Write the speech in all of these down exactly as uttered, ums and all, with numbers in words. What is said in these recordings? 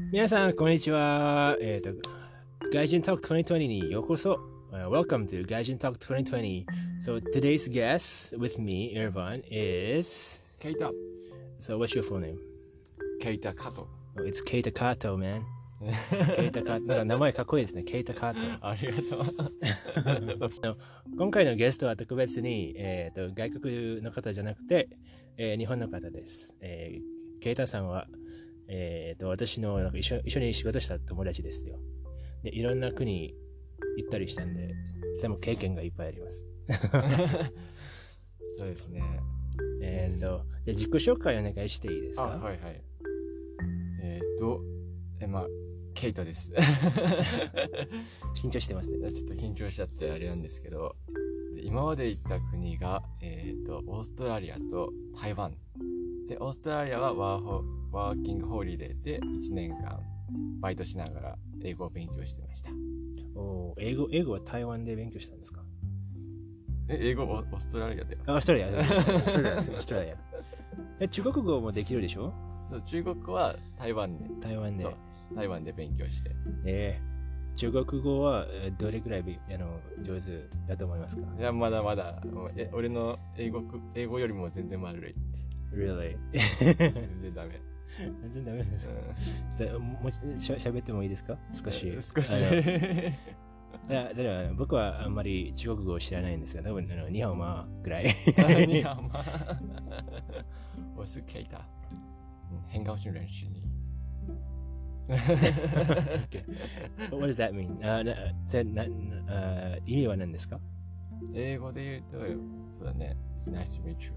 皆さん、こんにちは。えっ、と、外人 Talk twenty twenty にようこそ。Uh, welcome to Gaijin Talk twenty twenty. So today's guest with me, Irvan, is... Keita. So what's your full name? Keita Kato. Oh, it's Keita Kato, man. Keita Kato. なんか名前かっこいいですね。Keita Kato. ありがとう。 今回のゲストは特別に、えー、と外国の方じゃなくて、えー、日本の方です。えー、ケイタさんは、えー、と私のなんか一緒一緒に仕事した友達ですよ。で、いろんな国行ったりしたんで、でも経験がいっぱいあります。 そうですね。 えっと、じゃあ自己紹介お願いしていいですか？ あ、はいはい。えっ、ー、と、え、まあ、ケイタです。 緊張してますね。 ちょっと緊張しちゃってあれなんですけど、今まで行った国が、えっ、ー、と、オーストラリアと台湾。で、オーストラリアはワーホワーキングホリデーでいちねんかんバイトしながら英語を勉強してました。 お英語、英語は台湾で勉強したんですか？ え、英語オーストラリアだよ。 オーストラリア。オーストラリア。オーストラリア。え、中国語もできるでしょ？ そう中国語は台湾で。 台湾で。 台湾で勉強して。 えー、中国語はどれくらいあの上手だと思いますか？ いや、まだまだ。え俺の英語、英語よりも全然悪い。 Really? 全然ダメ。 全然ダメです。うん、もうしゃ喋ってもいいですか？少し。 少し。 いや、だから僕はあんまり中国語を知らないんですが、多分あのニハオマぐらい。 ニハオマ。我是 Keita。很高兴认识你。 What does that mean? あなぜなあ意味は何ですか？ 英語で言うと、そうだね。It's nice to meet you.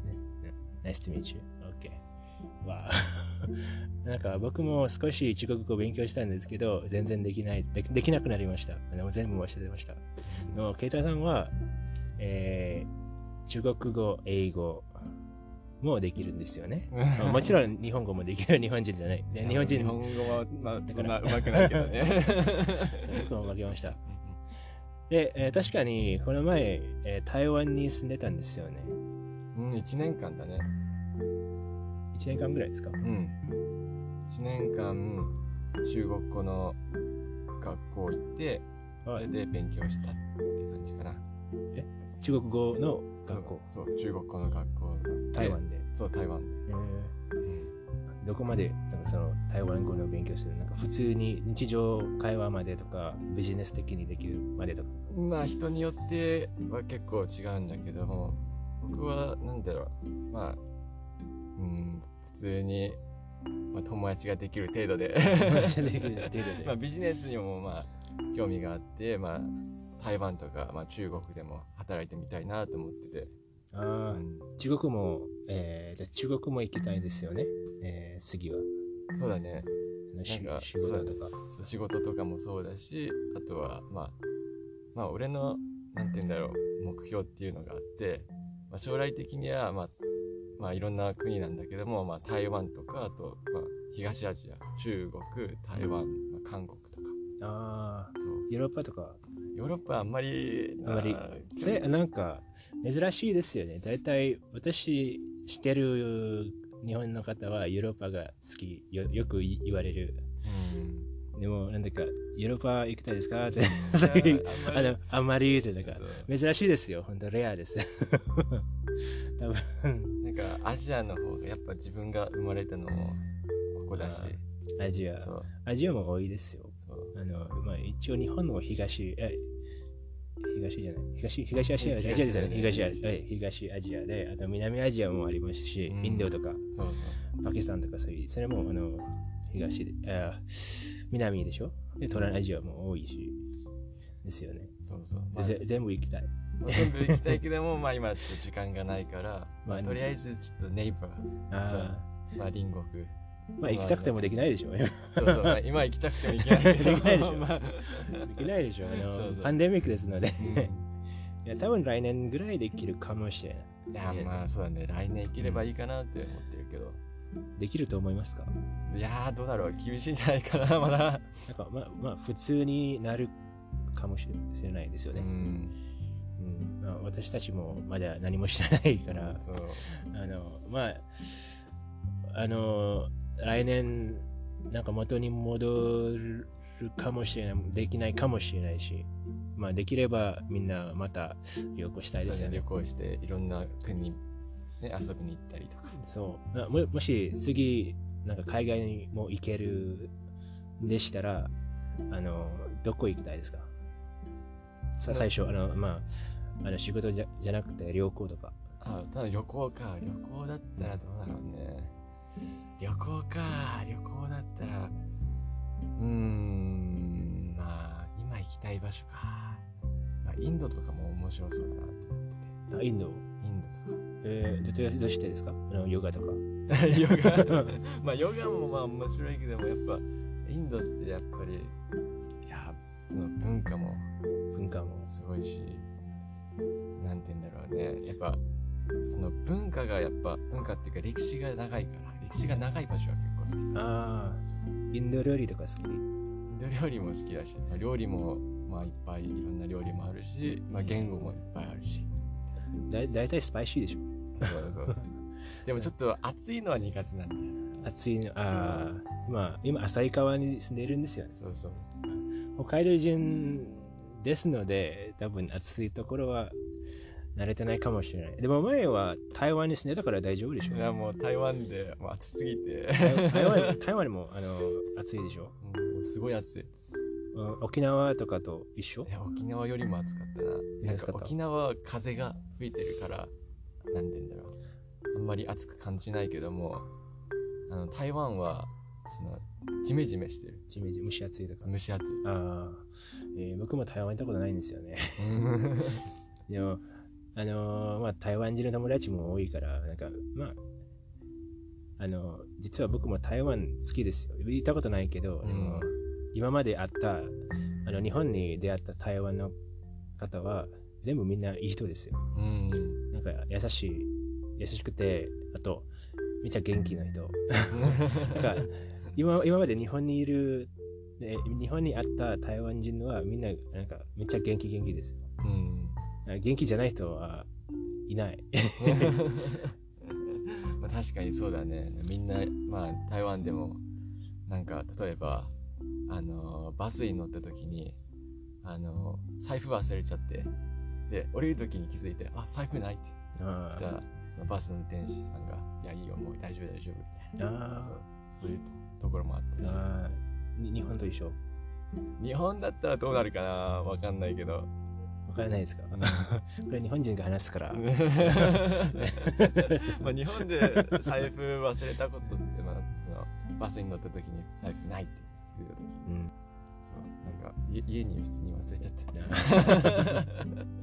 Nice to meet you. Okay. わあ。なんか僕も少し中国語を勉強したんですけど、全然できない、で, できなくなりました。でも全部忘れました。のケイタさんは、えー、中国語、英語もできるんですよね。もちろん日本語もできる日本人じゃない。日本人日本語は、まあ、そんなうまくないけどね。 僕も負けました。で、えー、確かにこの前、えー、台湾に住んでたんですよね。 うん、いちねんかんだね。 いちねんかんぐらいですか？ うん。いちねんかん中国語の学校行って、それで勉強したって感じかな。 え中国語の学校？ そう、そう中国語の学校。 台湾で？ そう、台湾で。 えーうん、どこまでなんかその台湾語の勉強する？なんか普通に日常会話までとか、ビジネス的にできるまでとか？ まあ人によっては結構違うんだけども、僕はなんだろう、まあ、うん、普通に、まあ、友達ができる程度でまあビジネスにもまあ興味があって、まあ台湾とか、まあ、中国でも働いてみたいなと思ってて。 ああ、うん、中国も、えー、じゃ中国も行きたいですよね、えー、次は。 そうだね。 なんか仕事とか。 そう仕事とかもそうだし、あとはまあまあ俺のなんて言うんだろう目標っていうのがあって。まあ、将来的には、まあ、まあいろんな国なんだけども、まあ、台湾とかあと、まあ、東アジア、中国、台湾、まあ、韓国とか。 ああ、そう。ヨーロッパとか。 ヨーロッパはあんまりあんまりせなんか珍しいですよね。だいたい私知ってる日本の方はヨーロッパが好き よ, よく言われる。うんでもなんだかヨーロッパ行きたいですかってあのあんまり言うてなんか珍しいですよ。本当レアです。多分なんかアジアの方がやっぱ自分が生まれたのもここだし、 アジアアジアも多いですよ。あのまあ一応日本の東え東じゃない東東アジアアジアですよね。東アジア東アジアであと南アジアもありますし、うん、インドとかそうそうパキスタンとかそういうそれもあの東であ南でしょ。で、東南アジアも多いしですよね。 そうそう。 まあ、全部行きたい。 全部行きたいけども、まあ今ちょっと時間がないから、まあとりあえずちょっとネイバー、あまあ隣国。 まあ行きたくてもできないでしょ。 そうそう。まあ、今行きたくても行けないけど。 できないでしょ。まあ、できないでしょ。あのそうそうパンデミックですので。うん、いや多分来年ぐらいできるかもしれない。 いやまあそうだね。来年行ければいいかなって思ってるけど。 できると思いますか？ いやーどうだろう厳しいんじゃないかなまだなんかまあまあ普通になるかもしれないですよね。うん、うんまあ、私たちもまだ何も知らないからそうあのまああの来年なんか元に戻るかもしれない、できないかもしれないし、まあできればみんなまた旅行したいですよね。 旅行していろんな国に、ね、遊びに行ったりとか。 そう。も, もし次なんか海外にも行けるでしたら、あのどこ行きたいですか？さ最初あのまああの仕事じゃじゃなくて旅行とか。 あ、ただ旅行か。旅行だったらどうだろうね。旅行か。旅行だったら、うーん、まあ今行きたい場所か。まあインドとかも面白そうだなと思ってて。 あ、インド。 インドとか。 えー、ど, ど, どうしてですか？あのヨガとか。 ヨガまあヨガもまあ面白いけども、やっぱインドってやっぱりいやその文化も文化もすごいし、なんて言うんだろうね、やっぱその文化がやっぱ文化っていうか歴史が長いから、歴史が長い場所は結構好き。 ああ、インド料理とか好き？インド料理も好きだし、まあ、料理もまあいっぱいいろんな料理もあるし、まあ言語もいっぱいあるし。 だだいたいスパイシーでしょ。 そうそうでもちょっと暑いのは苦手なんだよ。 暑いの、ああ、まあ今旭川に住んでるんですよね。 そうそう。 北海道人ですので、多分暑いところは慣れてないかもしれない。でも前は台湾に住んでたから大丈夫でしょ。 いやもう台湾でもう暑すぎて台湾台湾もあの暑いでしょ。 もうすごい暑い。 沖縄とかと一緒？ いや沖縄よりも暑かったな。なんか沖縄は風が吹いてるから、なんて言うんだろう、あんまり暑く感じないけども、あの台湾はそのジメジメしてる。 ジメジメ蒸し暑いとか。 蒸し暑い。 ああ、えー、僕も台湾行ったことないんですよね。でもあのー、まあ台湾人の友達も多いから、なんかまああの実は僕も台湾好きですよ。行ったことないけど、うん、でも今まで会ったあの日本に出会った台湾の方は全部みんないい人ですよ。 うん、 なんか優しい優しくて、あとめっちゃ元気な人。なんか 今, 今まで日本にいる日本にあった台湾人はみんななんかめっちゃ元気元気ですよ。うん、元気じゃない人はいない。 まあ確かにそうだね。みんなまあ台湾でもなんか例えばあのバスに乗った時にあの財布忘れちゃって、で降りる時に気づいて、あ財布ないって言ったら、そのバスの運転手さんがいやいいよもう大丈夫大丈夫みたいな、そう、そういうところもあったし。 あ日本と一緒？ 日本だったらどうなるかな、わかんないけど。わからないですか？これ日本人が話すから。 まあ日本で財布忘れたことって、まあ、そのバスに乗った時に財布ないって言った時、うん、そうなんか家に普通に忘れちゃって。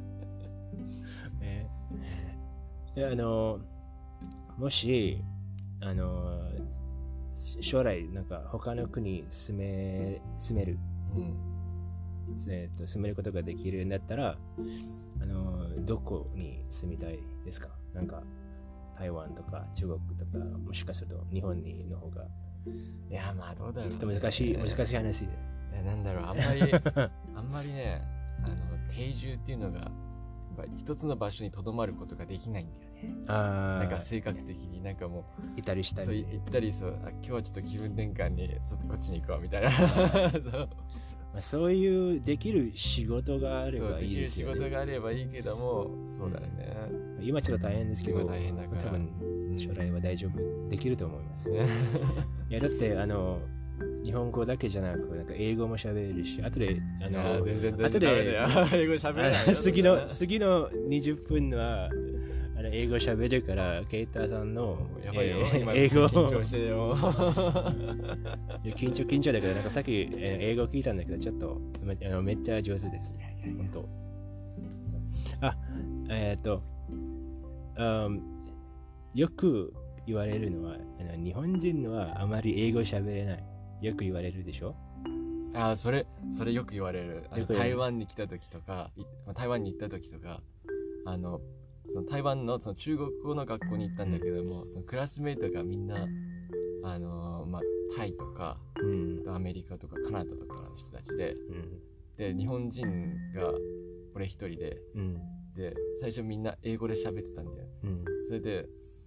えー、あのもしあの将来なんか他の国に住め住める、うんえー、と住めることができるんだったら、あのどこに住みたいですか？なんか台湾とか中国とか、もしかすると日本にの方が。 いやまあどうだろう、ね、 ちょっと難しい難しい話です。いやなんだろう、あんまりあんまりね、あの定住っていうのがやっぱ一つの場所にとどまることができないんだよね。あなんか性格的になんかもういたりしたり、 そう行ったり、そうあ今日はちょっと気分転換にそこっちに行こうみたいな。そうまあ、そういうできる仕事があればいいですよね。 そうできる仕事があればいいけども、そうだよね。 今ちょっと大変ですけど、 大変だから多分将来は大丈夫できると思います。いやだってあの日本語だけじゃなくなんか英語も喋れるし、後であの全然後で英語喋れない。 次の次のにじゅっぷんはあの英語喋るから、ケイタさんのやばいよ、えー、今英語緊張してるよ。 緊張緊張だけど、なんかさっき、えー、英語聞いたんだけど、ちょっとめあのめっちゃ上手です。本当。あ、えっ、ー、と、um、よく言われるのは、あの日本人はあまり英語喋れない。よく言われるでしょ？ ああ、それ、それよく言われる。あの台湾に来た時とか、台湾に行った時とか、あの、その台湾のその中国語の学校に行ったんだけども、そのクラスメイトがみんな、あのー、まあ、タイとか、うん、アメリカとかカナダとかの人たちで、うん、で、日本人が俺一人で、うん、で、最初みんな英語で喋ってたんだよ。うん、それで、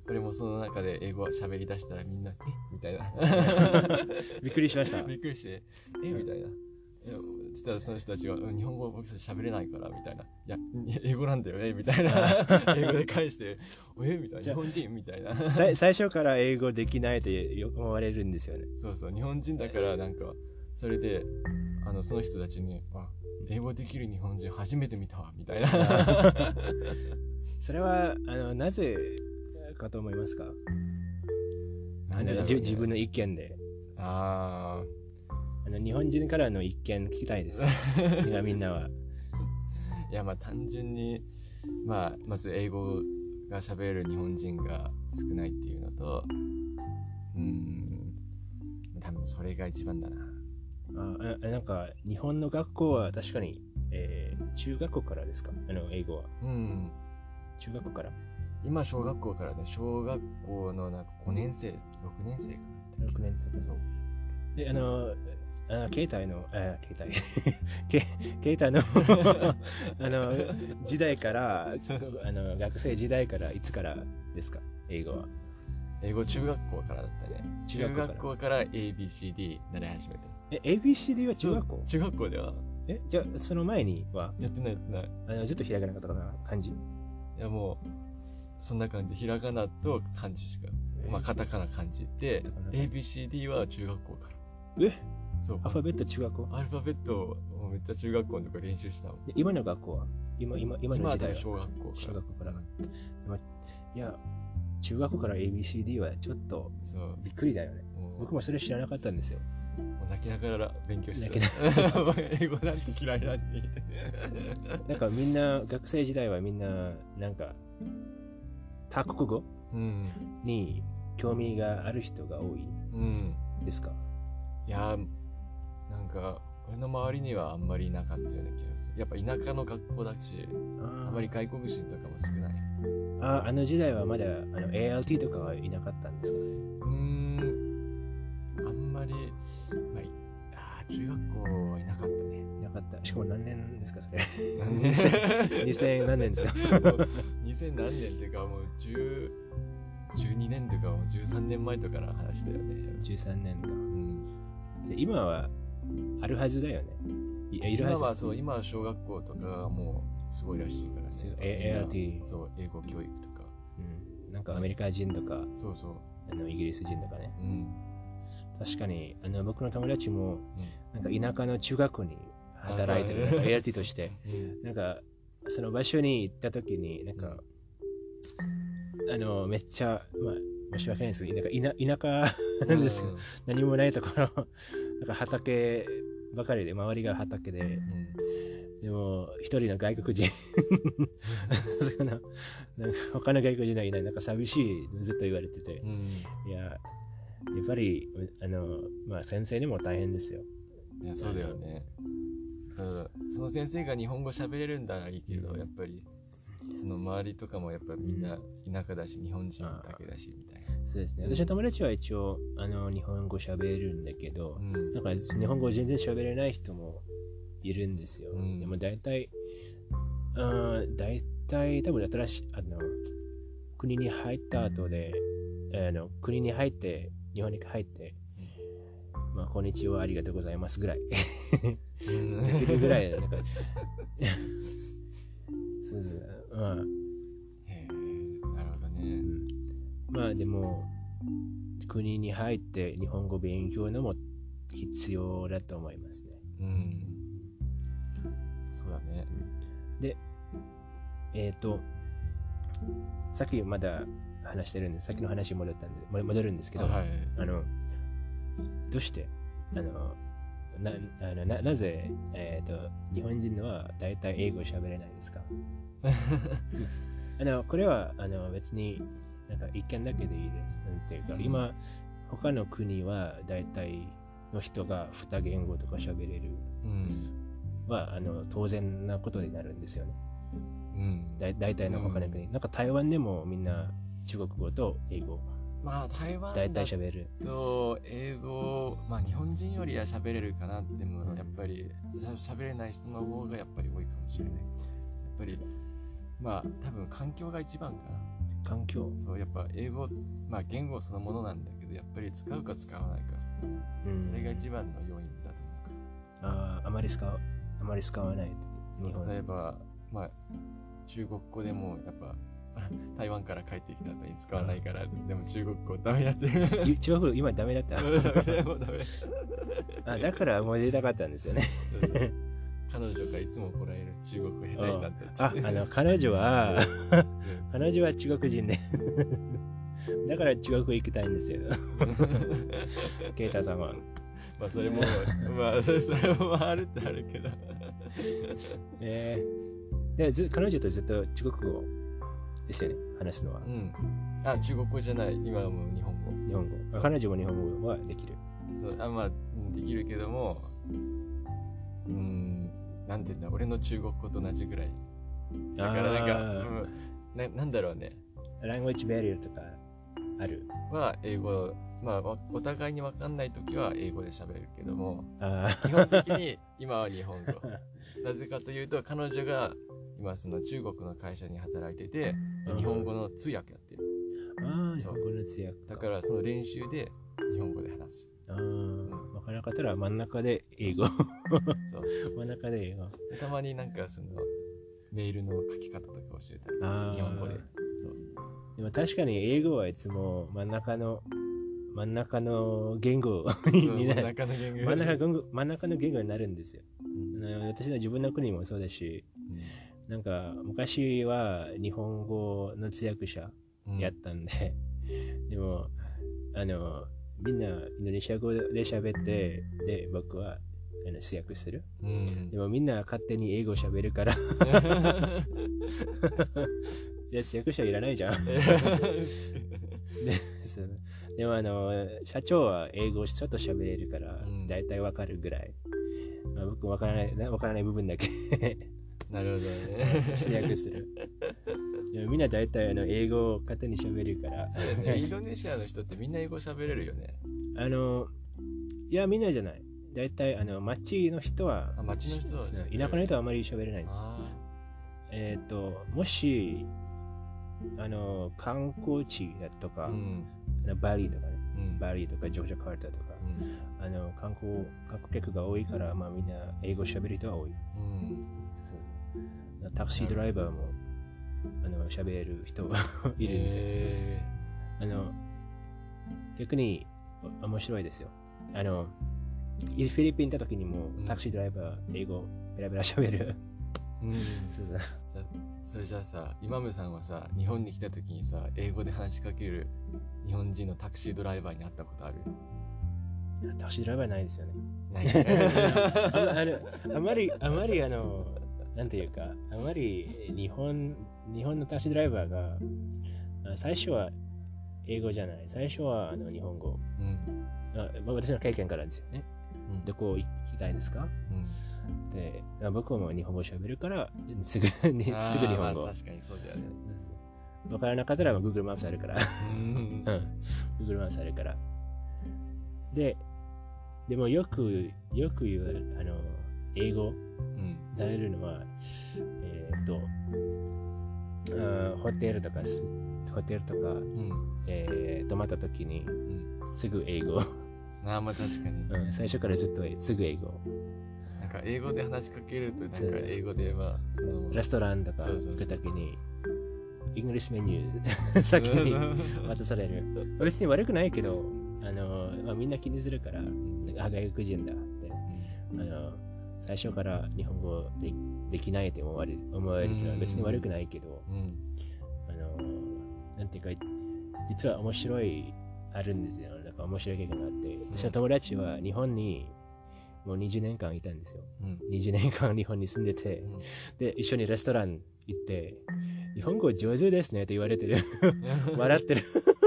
俺もその中で英語喋り出したらみんな、えみたいな。 びっくりしました。 びっくりして、えみたいな。いやそしたらその人たちが日本語僕たち喋れないからみたいな、いや英語なんだよねみたいな英語で返してえみたいな、日本人みたいな最初から英語できないとよく思われるんですよね。 そうそう、日本人だからなんかそれであのその人たちにあ英語できる日本人初めて見たわみたいなそれはあのなぜかと思いますか？ なんでだろうね、 自分の意見で。 あああの日本人からの意見聞きたいですみんなは。 いやまあ単純にまあまず英語が喋れる日本人が少ないっていうのと、うーん多分それが一番だな。 ああなんか日本の学校は確かに、えー、中学校からですか？あの英語は。 うん。 中学校から。 今小学校からね、小学校のなんかごねん生、ろくねん生かな。 ろくねん生か。 そう。 で、あの、あ携帯の、あ携帯け携帯のあの時代からあの学生時代からいつからですか？英語は。 英語中学校からだったね。中学校から、中学校から エービーシーディー 習い始めた。 え エービーシーディー は中学校？ 中学校では。 えじゃあその前にはやってないやってない。 あのずっとひらがなかったかな感じ？いやもうそんな感じ、ひらがなと漢字しか、まあカタカナ漢字で エービーシーディー は中学校から。 えそうアルファベット中学校？ アルファベットをめっちゃ中学校のとこ練習したの。 今の学校は今今今の時代は小学校から。 小学校から。いや中学校から エービーシーディー はちょっとびっくりだよね。僕もそれ知らなかったんですよ。 もう泣きながら勉強してた。英語なんて嫌いなんて。 なんかみんな学生時代はみんななんか多国語に興味がある人が多いですか？ うん、いやなんか俺の周りにはあんまりいなかったような気がする。やっぱ田舎の学校だし、あんまり外国人とかも少ない。 ああの時代はまだあの エーエルティー とかはいなかったんですか？ うーんあんまり、まあ、あ中学校はいなかったね。 いなかった。しかも何年ですかそれ？ 何年にせん何年ですか？ にせん何年っていうかもうじゅう、じゅうにねんとかもうじゅうさんねんまえとかの話だよね。 じゅうさんねんか。うん、で今はあるはずだよね。いいるはず。 今はそう、今は小学校とかがもうすごいらしいからね。 エーエルティー。 そう、英語教育とか。 うん。なんかアメリカ人とか、 そうそう。 あのイギリス人とかね。 うん。 確かに、あの僕の友達も、なんか田舎の中学校に働いてる、エーエルティーとして、なんかその場所に行った時に、なんか、あの、めっちゃ、まあ、申し訳ないですけど、なんか田田舎なんですよ。何もないところ、なんか畑ばかりで、周りが畑で、うん、でも、一人の外国人その、なんか他の外国人はいない、なんか寂しい、ずっと言われてて、うん、いや、やっぱり、あの、まあ、先生にも大変ですよ。 いや、そうだよね。その先生が日本語喋れるんだらいいけど、うん、やっぱり、その周りとかもやっぱみんな田舎だし、日本人だけだしみたいな。 そうですね。私の友達は一応あの日本語喋れるんだけど、うん、なんか日本語全然喋れない人もいるんですよ。うん、でも大体、あ大体多分新しいあの国に入った後で、あの国に入って日本に入って、うん、まあこんにちはありがとうございますぐらいできるぐらいなんかそうそうまあ、 へえ、なるほどね、うん。 まあでも国に入って日本語勉強のも必要だと思いますね。 うん。そうだね。 で、えっ、ー、とさっきまだ話してるんです。さっきの話に戻ったんで戻るんですけど、あ、はい、あのどうしてあのなあの な, なぜ、えー、と日本人は大体英語を喋れないですか？あのこれはあの別になんか一見だけでいいです。なんていうか、うん、今他の国は大体の人が二言語とか喋れる、うん、はあの当然なことになるんですよね。うん、だ大体の他の国、うん、なんか台湾でもみんな中国語と英語。 まあ台湾だと英語、まあ日本人よりは喋れるかなっても、うん、やっぱり喋れない人の方がやっぱり多いかもしれない。やっぱりまあ多分環境が一番かな。 環境。 そう、やっぱ英語、まあ言語そのものなんだけど、やっぱり使うか使わないか、うん、それが一番の要因だと思うから。 ああ、あまり使う、あまり使わない。 日本例えば、まあ、中国語でもやっぱ、台湾から帰ってきた後に使わないから、でも中国語ダメだって。 中国語今ダメだった。 もうダメ。 あ、だからもう出たかったんですよね。 そうそう、彼女がいつもこらえる中国語下手になったって。 あ、あの彼女は彼女は中国人でだから中国語行きたいんですよ。ケイタさんは。 まあそれもまあそれもあるってあるけど。 えー、でず彼女とずっと中国語ですよね、話すのは。 うん。あ、中国語じゃない、今はもう日本語。 日本語。彼女も日本語はできる。 そう、あ、まあできるけども、うーん、なんていうんだ、俺の中国語と同じぐらい。だからなんか、うん、な, なんだろうね。 ラングエッジバリアとかある。 は英語、まあお互いに分かんないときは英語で喋るけども、 あ基本的に今は日本語。なぜかというと、彼女が今その中国の会社に働いてて、日本語の通訳やってる。 ああ、日本語の通訳。 だからその練習で日本語で話す。 ああ、分からなかったら真ん中で英語。そう。真ん中で英語。 たまになんかそのメールの書き方とか教えたり、日本語で。そう。 でも確かに英語はいつも真ん中の真ん中の言語になる。真ん中の言語。真ん中の真ん中の言語になるんですよ。うん、私の自分の国もそうだし、うん、なんか昔は日本語の通訳者やったんで、うん、でもあのみんなインドネシア語で喋って、で僕はあの通訳する、うん、でもみんな勝手に英語喋るからいや通訳者いらないじゃん。ででもあの社長は英語ちょっと喋れるからだいたいわかるぐらい、まあ、僕わからないわからない部分だけなるほどね通訳する。でもみんなだいたいあの英語を勝手に喋るから。 そうだね、インドネシアの人ってみんな英語喋れるよね。 あのいやみんなじゃない。だいたいあの町の人は、 あ、町の人は田舎の人はあまり喋れないんです。えっ、ー、ともしあの観光地だとか、うん、あのバリとかね、うん、バリとかジョージャカルタとか、うん、あの観光観光客が多いから、まあみんな英語喋る人は多い。うん、タクシードライバーもあの喋れる人がいるんですよ。えー、あの逆に面白いですよ。あのフィリピン行った時にもタクシードライバー英語ペラペラ喋る。うん、 そうだ。それじゃあさ、イマムさんはさ、日本に来た時にさ、英語で話しかける日本人のタクシードライバーに会ったことある？ いやタクシードライバーないですよね。 ないあ, あ, のあまりあまりあのなんていうか、あまり日本日本のタクシードライバーが最初は英語じゃない、最初はあの日本語。うん、あまあ、私の経験からですよね。うん、どこ行きたいですか？うん、で僕も日本語喋るからすぐにすぐ日本語。 まあ、確かにそうだよね。 分からなかったら Google マップあるから。うん、Google マップあるから。で、でもよくよく言うあの英語されるのは、えっ、ー、とあホテルとかホテルとか、うん、えー、泊まった時に、うん、すぐ英語。 ああ、まあ確かに、 うん。最初からずっとすぐ英語。 なんか英語で話しかけると、なんか英語でまあそのレストランとか行くときに、イングリッシュメニュー先に渡される。別に悪くないけど、あの、まあ、みんな気にするから、あ、外国人だって、うん、あの最初から日本語 で, できないって思われる思われる、うん、別に悪くないけど、うん、あのなんていうか実は面白いあるんですよ。なんか面白い経験があって、私の友達は日本にもうにじゅうねんかんいたんですよ。うん、にじゅうねんかん日本に住んでて、うん、で一緒にレストラン行って日本語上手ですねって言われてる。笑ってる。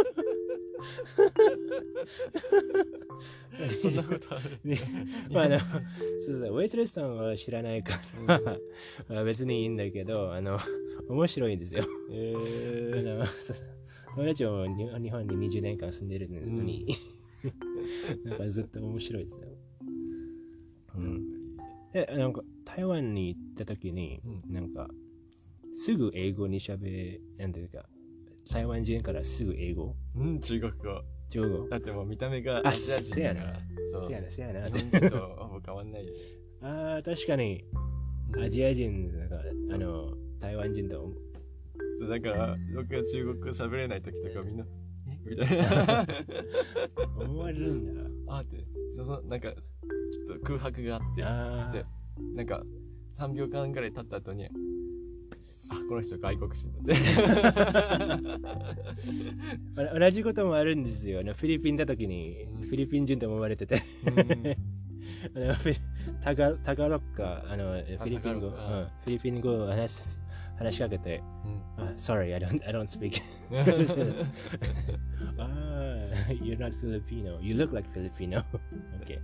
そんなことある、ね、 まああのそうそうウェイトレスさんは知らないから、うん、まあ別にいいんだけど、あの面白いんですよ。えー、あの友達も日本ににじゅうねんかん住んでるのに、うん、なんかずっと面白いですよ。うん、でなんか台湾に行った時に、うん、なんかすぐ英語にしゃべなんていうか台湾人からすぐ英語うん中国語中国語だってもう見た目があアジア人だからそうせやなせやな日本人とほぼ変わんないよああ確かにアジア人なんかあの台湾人とそうだから僕が中国語喋れない時とかみんなえみたいな思われるんだあってそうそうなんかちょっと空白があってあでなんかさんびょうかんぐらい経った後にあこの人外国人だって同じこともあるんですよあのフィリピンだ時に、うん、フィリピン人と思われてて、うん、あのタガタガロッカあのフィリピン語、うん、フィリピン語を話す話しかけて、うん、ah, sorry, I don't, I don't speak. ah, you're not Filipino. You look like Filipino. okay.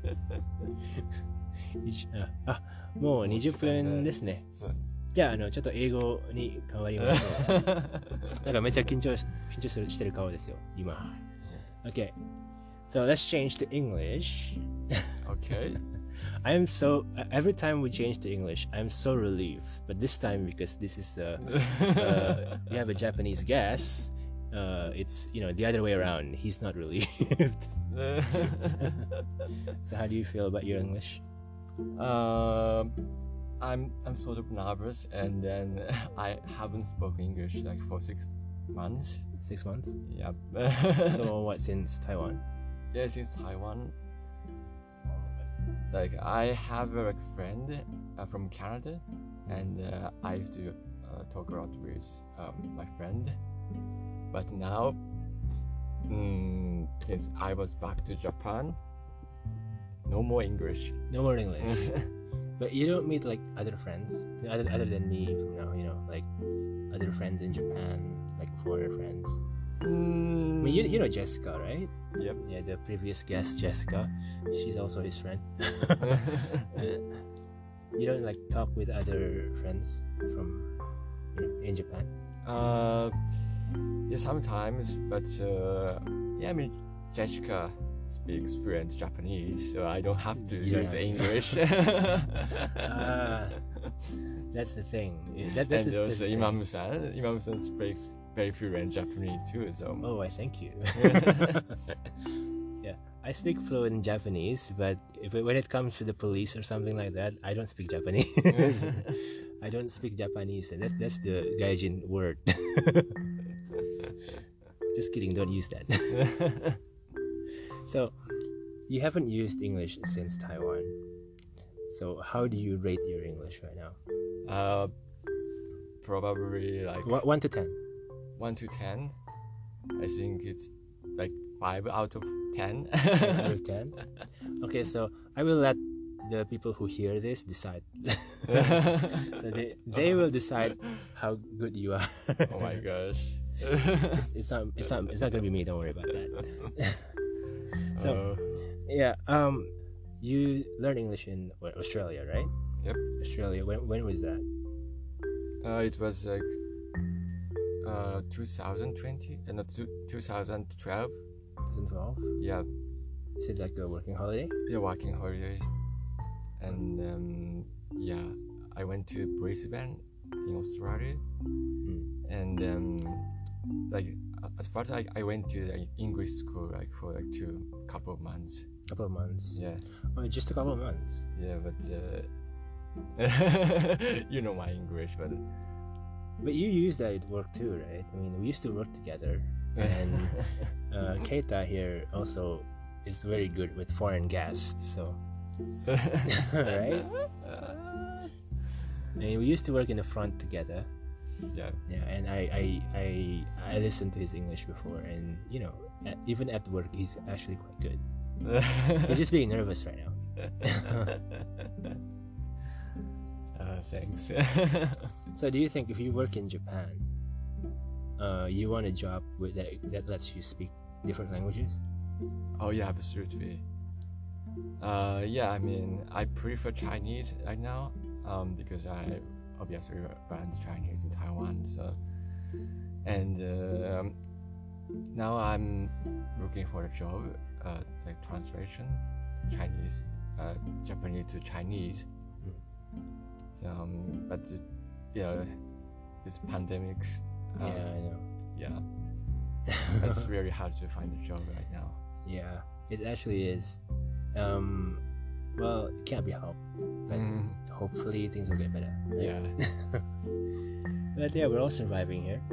あ、もうにじゅっぷんですね。じゃあ、あの、ちょっと英語に変わりましょう。なんかめっちゃ緊張し、緊張するしてる顔ですよ、今。Okay. So let's change to English. okay. I'm so every time we change to English, I'm so relieved. But this time, because this is uh, uh we have a Japanese guest, uh, it's you know the other way around. He's not relieved. So how do you feel about your English? Um, I'm I'm sort of nervous, and then I haven't spoken English like for six months. Six months? Yeah. So what since Taiwan? Yeah, since Taiwan. Like I have a like, friend uh, from Canada, and uh, I used to uh, talk a lot with um, my friend. But now, mm, since I was back to Japan, no more English. No more English. But you don't meet like other friends, other other than me from now. You know, like other friends in Japan, like foreigner friends. Mm. I mean, you, you know Jessica, right? Yep. Yeah, the previous guest, Jessica. She's also his friend. You don't like talk with other friends from you know, in Japan? Uh, yeah, sometimes, but uh, yeah, I mean, Jessica speaks fluent Japanese, so I don't have to you use English. Ah, that's the thing. That, that's and the, also the Imam-san, Imam-san speaks very fluent Japanese too, so. Oh, I thank you. Yeah, I speak fluent Japanese, but if it, when it comes to the police or something like that, I don't speak Japanese. I don't speak Japanese, and that, that's the gaijin word. Just kidding, don't use that. So, you haven't used English since Taiwan. So, how do you rate your English right now? Uh, probably like one, one to ten. One to ten. I think it's like five out of ten. Five out of ten. Okay, so I will let the people who hear this decide. So they they will decide how good you are. Oh my gosh. It's, it's not it's not it's not gonna be me. Don't worry about that. So uh, yeah, um, you learned English in what, Australia, right? Yep. Australia. When when was that? Uh, it was like uh twenty twenty and uh, no, twenty twelve. twenty twelve. Yeah. Is it like a working holiday? Yeah, working holidays. And um, yeah, I went to Brisbane in Australia, Mm. and um, like at first I, I went to like English school like for like two couple of months. Couple of months. Yeah. Oh, just a couple of months. Yeah, but uh, you know my English, but but you use that at work too, right? I mean, we used to work together, and uh, Keita here also is very good with foreign guests, so. Right? And we used to work in the front together. Yeah. Yeah, and I I I, I listened to his English before, and you know, at, even at work, he's actually quite good. He's just being nervous right now. uh, thanks. So, do you think if you work in Japan, uh, you want a job with that that lets you speak different languages? Oh yeah, absolutely. Uh, yeah, I mean, I prefer Chinese right now, um, because I obviously learned Chinese in Taiwan. So, and uh, um, now I'm looking for a job, uh, like translation, Chinese, uh, Japanese to Chinese. So, um, but uh, yeah, this pandemic. Uh, yeah, I know. Yeah, It's really hard to find a job right now. Yeah, it actually is. Um, well, it can't be helped, but Mm. hopefully things will get better. Yeah. But yeah, we're all surviving here.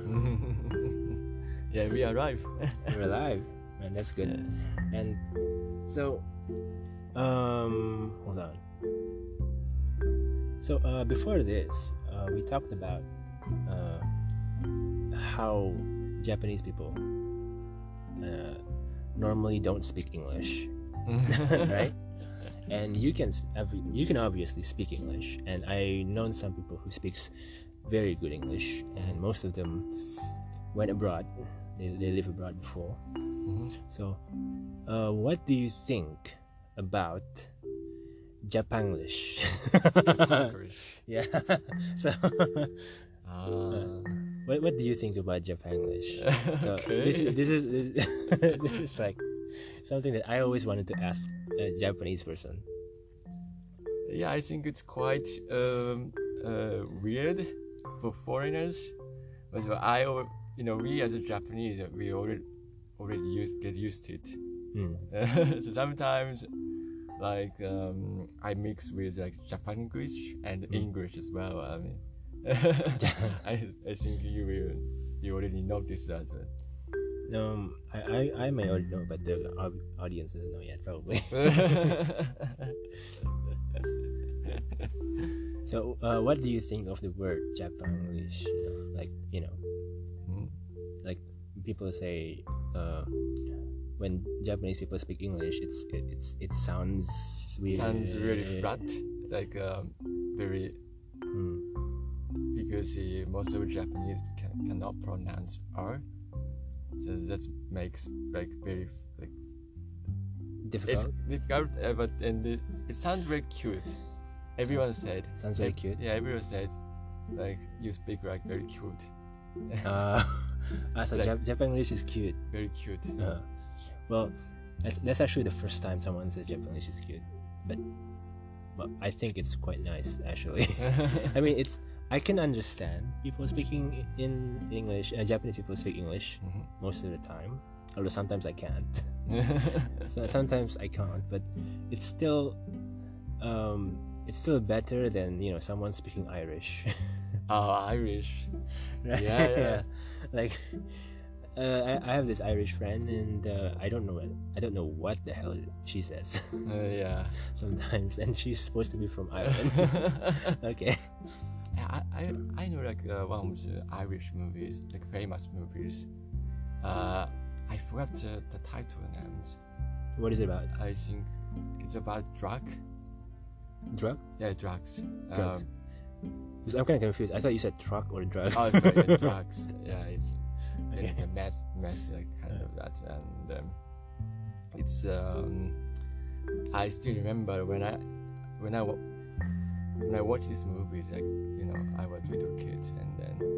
Yeah, we arrive. We're alive, and that's good. And so, um, hold on. So uh, before this, uh, we talked about uh, how Japanese people uh, normally don't speak English, right? And you can s- obvi- you can obviously speak English, and I known some people who speaks very good English, and most of them went abroad. They they live abroad before. Mhm. So, uh, what do you think about Japanglish? Japanglish. Yeah. So, Ah. what what do you think about Japanglish? So Okay. this is this is this is like something that I always wanted to ask a Japanese person. Yeah, I think it's quite um, uh, weird for foreigners, but I, al- you know, we as a Japanese, uh, we already already used get used to it. Hmm. So sometimes, like, um, I mix with like Japanese and Mm. English as well. I mean, I I think you will you already noticed that. But Um, I, I, I may already know, but the au- audience doesn't know yet, probably. So, uh, what do you think of the word Japanglish? You know, like, you know, Hmm. like people say, uh, when Japanese people speak English, it's it, it's it sounds weird. Sounds really flat, like um, very Hmm. because uh, most of Japanese can, cannot pronounce R, so that makes like very like it's Difficult. difficult, uh, but and it, it sounds very cute. Everyone said Sounds very ev- cute. Yeah, everyone said like you speak like very cute, Uh, ah, so Like- Jap- Japanglish is cute. very cute. Uh, well, that's, that's actually the first time someone says Japanese is cute, but well, I think it's quite nice actually. I mean, it's I can understand people speaking in English. Uh, Japanese people speak English Mhm. most of the time, although sometimes I can't. So sometimes I can't, but it's still um, it's still better than you know someone speaking Irish. Oh, Irish. Right? Yeah, yeah. Like, uh, I, I have this Irish friend, and uh, I don't know what I don't know what the hell she says Uh, yeah. sometimes, and she's supposed to be from Ireland. Okay. I, I I know like uh, one of the Irish movies, like famous movies. Uh, I forgot the, the title names. What is it about? I think it's about drug. Drug? Yeah, drugs. Drugs. Um, Because I'm kind of confused. I thought you said truck or drug. oh, sorry, yeah, drugs. Yeah, it's Okay. a mess, mess like kind of that, and um, it's. Um, I still remember when I when I wa- when I watched these movies, like you know, I was a little kid, and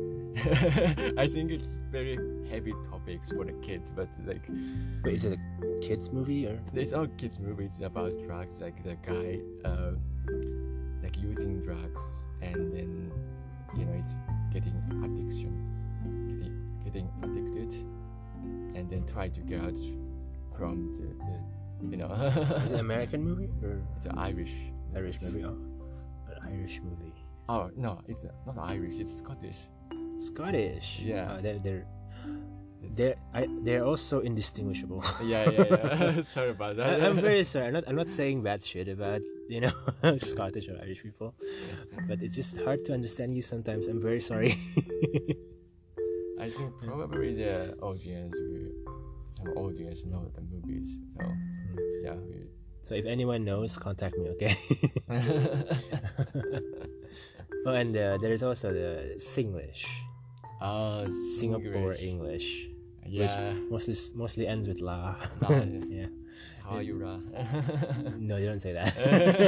then I think it's very heavy topics for the kids, but like Wait, is it a kids movie or? it's all kids movies about drugs, like the guy uh, like using drugs, and then you know it's getting addiction, getting getting addicted, and then try to get out from the, the you know. Is it an American movie or It's an Irish. Irish movie? Oh, an Irish movie. Oh no, it's uh, not Irish. It's Scottish. Scottish. Yeah. Uh, they're they're It's, they're I, they're also indistinguishable. yeah, yeah, yeah. Sorry about that. I, I'm very sorry. I'm not. I'm not saying bad shit about you know Scottish or Irish people, but it's just hard to understand you sometimes. I'm very sorry. I think probably the audience will, some audience know the movies. So yeah. We, So if anyone knows, contact me. Okay. Oh, and uh, there's also the Singlish, uh, Singapore English. English, Yeah. mostly mostly ends with la. La, Yeah. How are you, Ra? No, you don't say that.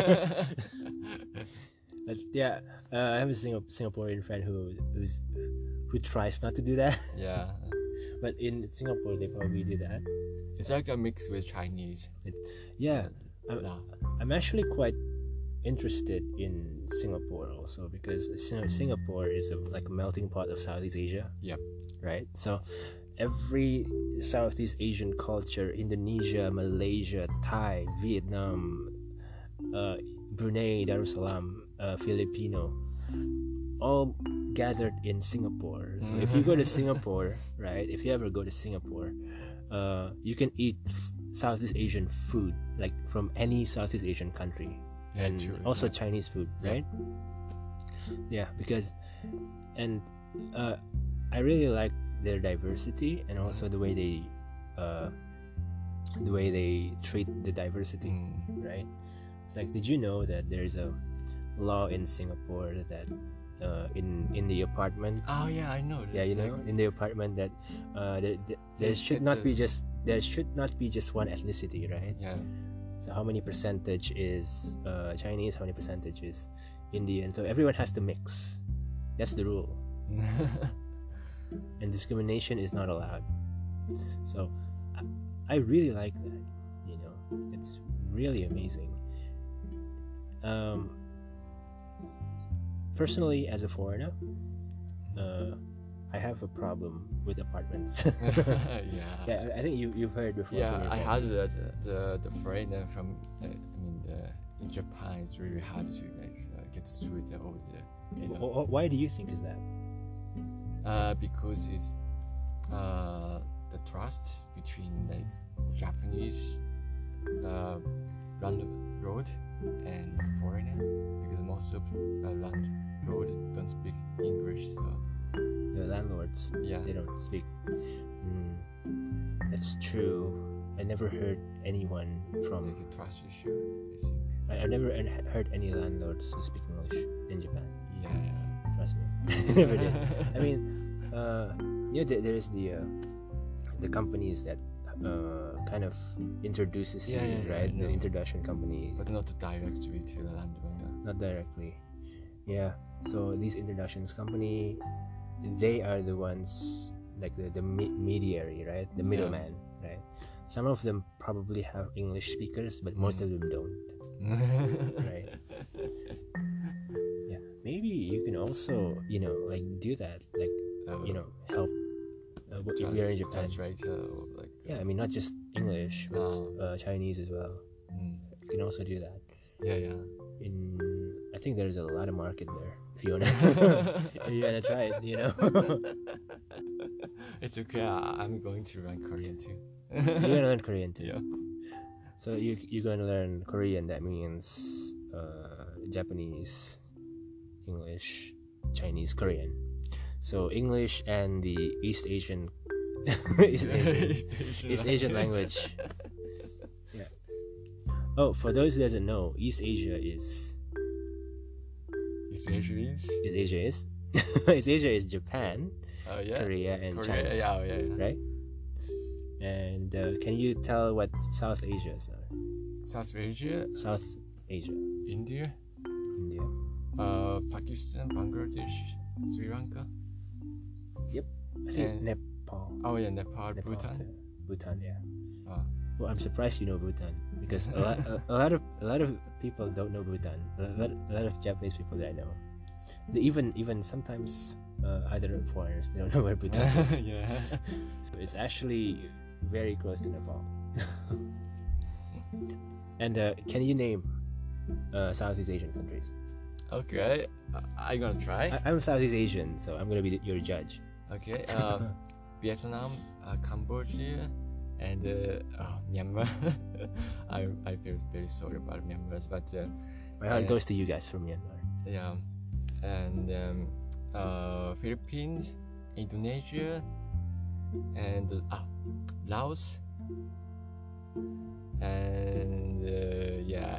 But yeah, uh, I have a Singap- Singaporean friend who who's who tries not to do that, Yeah. but in Singapore they probably do that. It's like a mix with Chinese. Yeah, I'm, La. I'm actually quite interested in Singapore also because Sing- Singapore is a, like a melting pot of Southeast Asia. Yep. Right. So every Southeast Asian culture, Indonesia, Malaysia, Thai, Vietnam, uh, Brunei, Darussalam, uh, Filipino, all gathered in Singapore. So if you go to Singapore, right, if you ever go to Singapore, uh, you can eat f- Southeast Asian food, like from any Southeast Asian country. Yeah, And true. also yeah. Chinese food, Yeah. right? Yeah, because, and uh, I really like their diversity and also the way they, uh, the way they treat the diversity, Mm. right? It's like, did you know that there's a law in Singapore that uh, in in the apartment, Oh yeah, I know. yeah, you It's know, like- in the apartment that uh, there, there, there They should set not the- be just there should not be just one ethnicity, right? yeah. So how many percentage is uh, Chinese? How many percentage is Indian? So everyone has to mix. That's the rule, and discrimination is not allowed. So I, I really like that. You know, it's really amazing. Um, personally, as a foreigner, uh, I have a problem with apartments. yeah. Yeah, I I think you you've heard before. Yeah, from your I friends. heard that uh, the the foreigner from uh, I mean the, in Japan it's really hard to like uh, get through the all the you know Wh- wh- Why do you think is that? uh, because it's uh, the trust between like Japanese uh, landlord and foreigner because most of uh, landlord don't speak English, so The landlords, yeah. they don't speak. Mm, that's true. I never heard anyone from. Like a trust issue, I think. I, I never an- heard any landlords who speak English in Japan. Yeah, yeah. Trust me, I never did. I mean, uh, you know, there, there's the uh, the companies that uh, kind of introduces Yeah, you, yeah, yeah, right? I The know. introduction companies, But not directly to the landowner. not directly. Yeah. So these introductions company, they are the ones like the the me- mediary, right? The Yeah. middleman, right? Some of them probably have English speakers, but most Mm. of them don't. Right. Yeah. Maybe you can also, you know, like do that, like Uh, you know, help. Uh, if trans- you're in Japan, translator or like yeah. I mean, not just English, but Oh. uh, Chinese as well. mm, You can also do that. yeah, yeah. In I think there's a lot of market there. If you wanna, if you wanna try it, you know. It's okay. I, I'm going to learn Korean too. You're gonna learn Korean too. Yeah. So you you're gonna learn Korean. That means uh, Japanese, English, Chinese, Korean. So English and the East Asian, East Asian, East Asian, East Asian language. Yeah. Oh, for those who doesn't know, East Asia is East Asia is. East Asia is East Asia is Japan, Oh yeah. Korea, and Korea. China. Yeah, oh, yeah, yeah. Right? And uh, can you tell what South Asia is? South Asia, South Asia, India, India. uh, Pakistan, Bangladesh, Sri Lanka. I think And- Nepal. Oh yeah, Nepal, Nepal Bhutan. too. Bhutan, yeah. Oh. Well, I'm surprised you know Bhutan because a lot, a, a lot of a lot of people don't know Bhutan. A lot, a lot of Japanese people that I know, they even even sometimes uh, other foreigners, they don't know where Bhutan is. yeah. It's actually very close to Nepal. And uh, can you name uh, Southeast Asian countries? Okay, uh, I'm gonna try. I, I'm Southeast Asian, so I'm gonna be the, your judge. Okay, um, Vietnam, uh, Cambodia, and uh, oh, Myanmar. I I feel very sorry about Myanmar, but uh, My heart Yeah. goes to you guys from Myanmar. yeah, and um, uh, Philippines, Indonesia, and uh, Laos, and uh, yeah.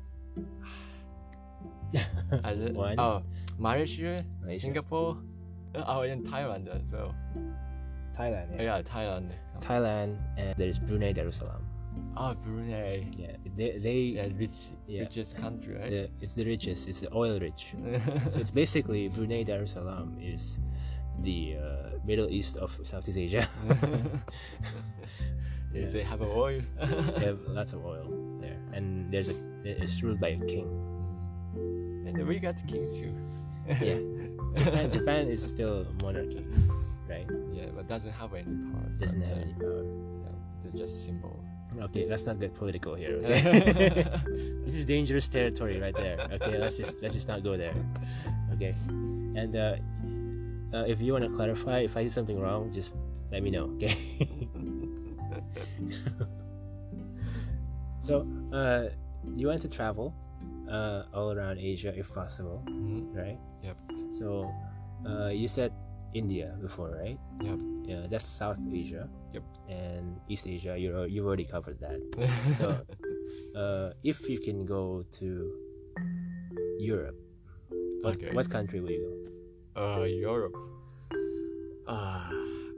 Other- One. Oh, Malaysia, Malaysia. Singapore, uh, oh, and Thailand as well. Thailand, Oh, yeah. yeah, Thailand. Thailand, and there's Brunei Darussalam. Oh, Brunei. Yeah, they, they Yeah, rich, Yeah. richest country, right? the, it's the richest. It's the oil rich. So it's basically Brunei Darussalam is the uh, Middle East of Southeast Asia. Yeah, Yeah. they have oil. They have lots of oil there, and there's a it's ruled by a king. And we got king too. Yeah. Japan, Japan is still monarchy. right? Yeah, but doesn't have any power. Doesn't but, have uh, any power. Yeah, they're just symbol. Okay, let's not get political here. Okay? This is dangerous territory right there. Okay, let's just let's just not go there. Okay, and uh, uh, if you want to clarify, if I did something wrong, just let me know. Okay. So, uh, you want to travel uh, all around Asia if possible, Mm-hmm. right? Yep. So, uh, you said India before, right? Yep. Yeah, that's South Asia. Yep. And East Asia, you al- you've already covered that. So, uh, if you can go to Europe, what, Okay. what country will you Uh, Europe. Ah,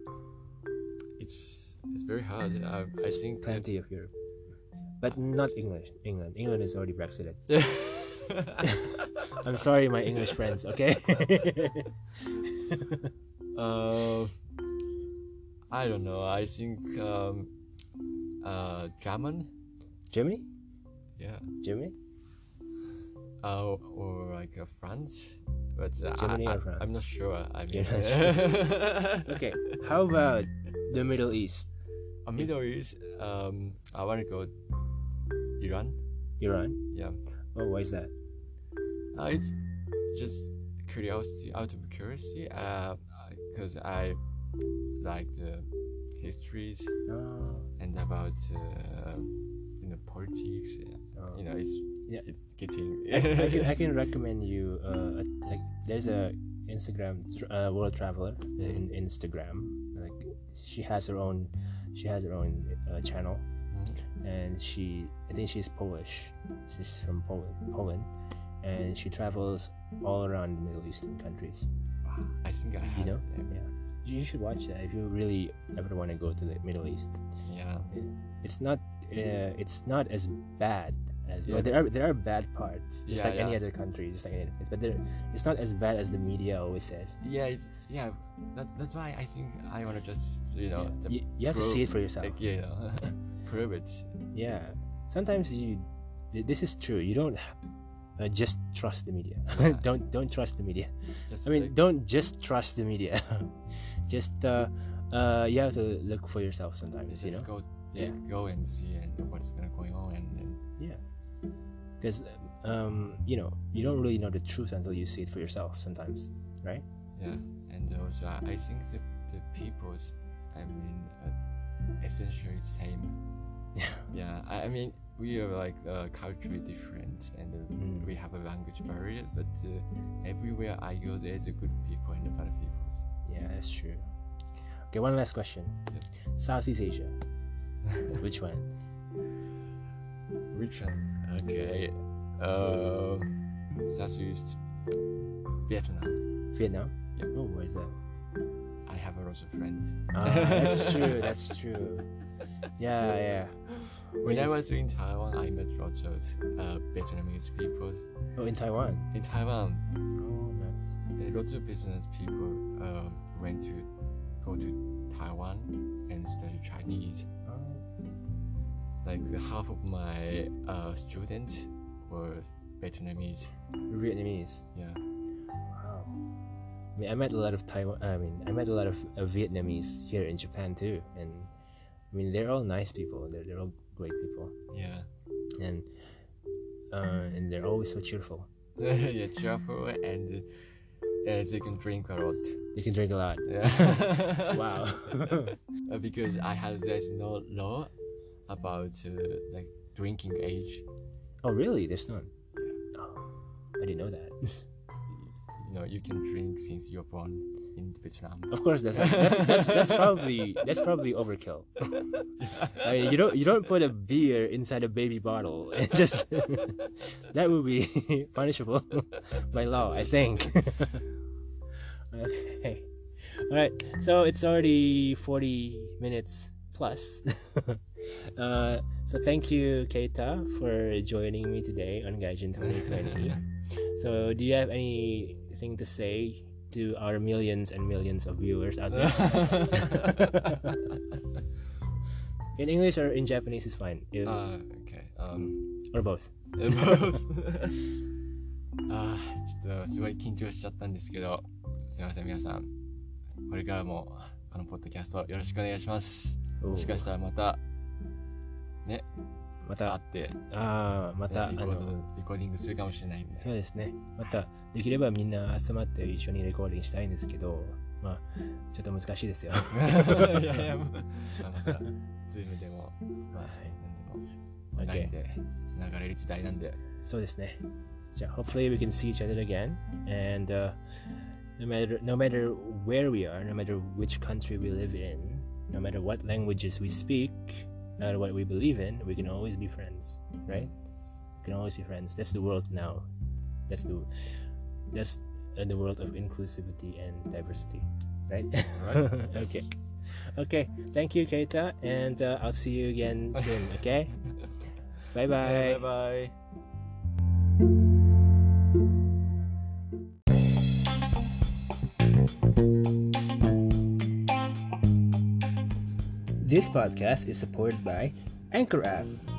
it's it's very hard. I, I think. go? Plenty of Europe, but not English. England. England is already Brexited. I'm sorry, my English friends. Okay. uh, I don't know. I think um, uh, German. Germany. Yeah. Germany. Uh, or like uh, France. But uh, Germany I, or I, France? I'm not sure. I mean, You're Okay. How about the Middle East? uh, Middle East. Um, I want to go Iran. Iran. Yeah. Oh, why is that? Uh, it's just curiosity, out of curiosity. Uh, because I like the histories Oh. and about uh, you know politics. Oh. You know, it's Yeah. it's getting. I, I can I can recommend you uh a, like there's a Instagram tr- uh, world traveler in Instagram, like she has her own she has her own uh, channel, Mhm. and she I think she's Polish. She's from Poland Poland and she travels all around the Middle Eastern countries. I think I have. You know? them. Yeah. You should watch that if you really ever want to go to the Middle East. Yeah. It's not uh, it's not as bad as Yeah. well, there are there are bad parts just Yeah, like any yeah. other country, just like any other place, but there, it's not as bad as the media always says. Yeah. It's yeah. That's that's why I think I wanna just you know. Yeah. the You, you have to prove- see it for yourself. Like, you know, prove it. Yeah, sometimes you th- this is true, you don't uh, just trust the media. Yeah. don't don't trust the media. Just I mean, like, don't just trust the media. Just uh, uh, you have to look for yourself sometimes. just You know, go Yeah. go and see and what's gonna going on and, and yeah, because um, you know you don't really know the truth until you see it for yourself. Sometimes, right? yeah. And also I, I think the the people's I mean uh, essentially same. Yeah. Yeah. I, I mean we are like uh, culturally different and uh, Mm. we have a language barrier, but uh, everywhere I go there's a good people and bad people. Yeah, that's true. Okay, one last question. Yep. Southeast Asia. Which one? Which one? Okay. Uh, Southeast Vietnam. Vietnam? Yep. Oh, where's that? I have a lot of friends. Ah, that's true. That's true. Yeah, yeah. When I was in Taiwan, I met lots of uh, Vietnamese people. Oh, in Taiwan. In Taiwan, Oh, nice. a lot of business people um, went to go to Taiwan and study Chinese. Oh, Like the half of my uh, students were Vietnamese. Vietnamese. Yeah. Wow. I mean, I met a lot of Taiwan. I mean, I met a lot of uh, Vietnamese here in Japan too, and I mean, they're all nice people. They're they're all great people, Yeah. and uh, and they're always so cheerful. Yeah, cheerful and uh, they can drink a lot. They can drink a lot. Yeah. Wow. Uh, because I have there's no law about uh, like drinking age. Oh, really? There's none. Oh, I didn't know that. You know, you can drink since you're born in Vietnam. Of course, that's that's, that's, that's probably that's probably overkill. I mean, you don't you don't put a beer inside a baby bottle and just that would be punishable by law, I think. Okay, all right. So it's already forty minutes plus. uh, so thank you, Keita, for joining me today on Gaijin twenty twenty. So, do you have anything to say to our millions and millions of viewers out there? In English or in Japanese is fine. You- uh, okay. Um, or both. あーちょっとすごい緊張しちゃったんですけど、すみません皆さん。 これからもこのポッドキャストよろしくお願いします。 おもしかしたらまたねまた会ってああまた、 ね、リコードあのリコーディングするかもしれないんで。 そうですね。またできればみんな集まって一緒にレコーディングしたいんですけど、まあちょっと難しいですよ。 いやいや、まあ、またズームでもまあ何でも。 Okay. ラインでつながれる時代なんで。 そうですね。じゃあ、hopefully we can see each other again. And、uh, no matter no matter where we are, no matter which country we live in, no matter what languages we speak, no matter what we believe in, we can always be friends, right? We can always be friends. That's the world now. That's the that's uh, the world of inclusivity and diversity, right? Right. Okay. Okay. Thank you, Keita, and uh, I'll see you again soon. Okay. Bye bye. Bye bye. This podcast is supported by Anchor App.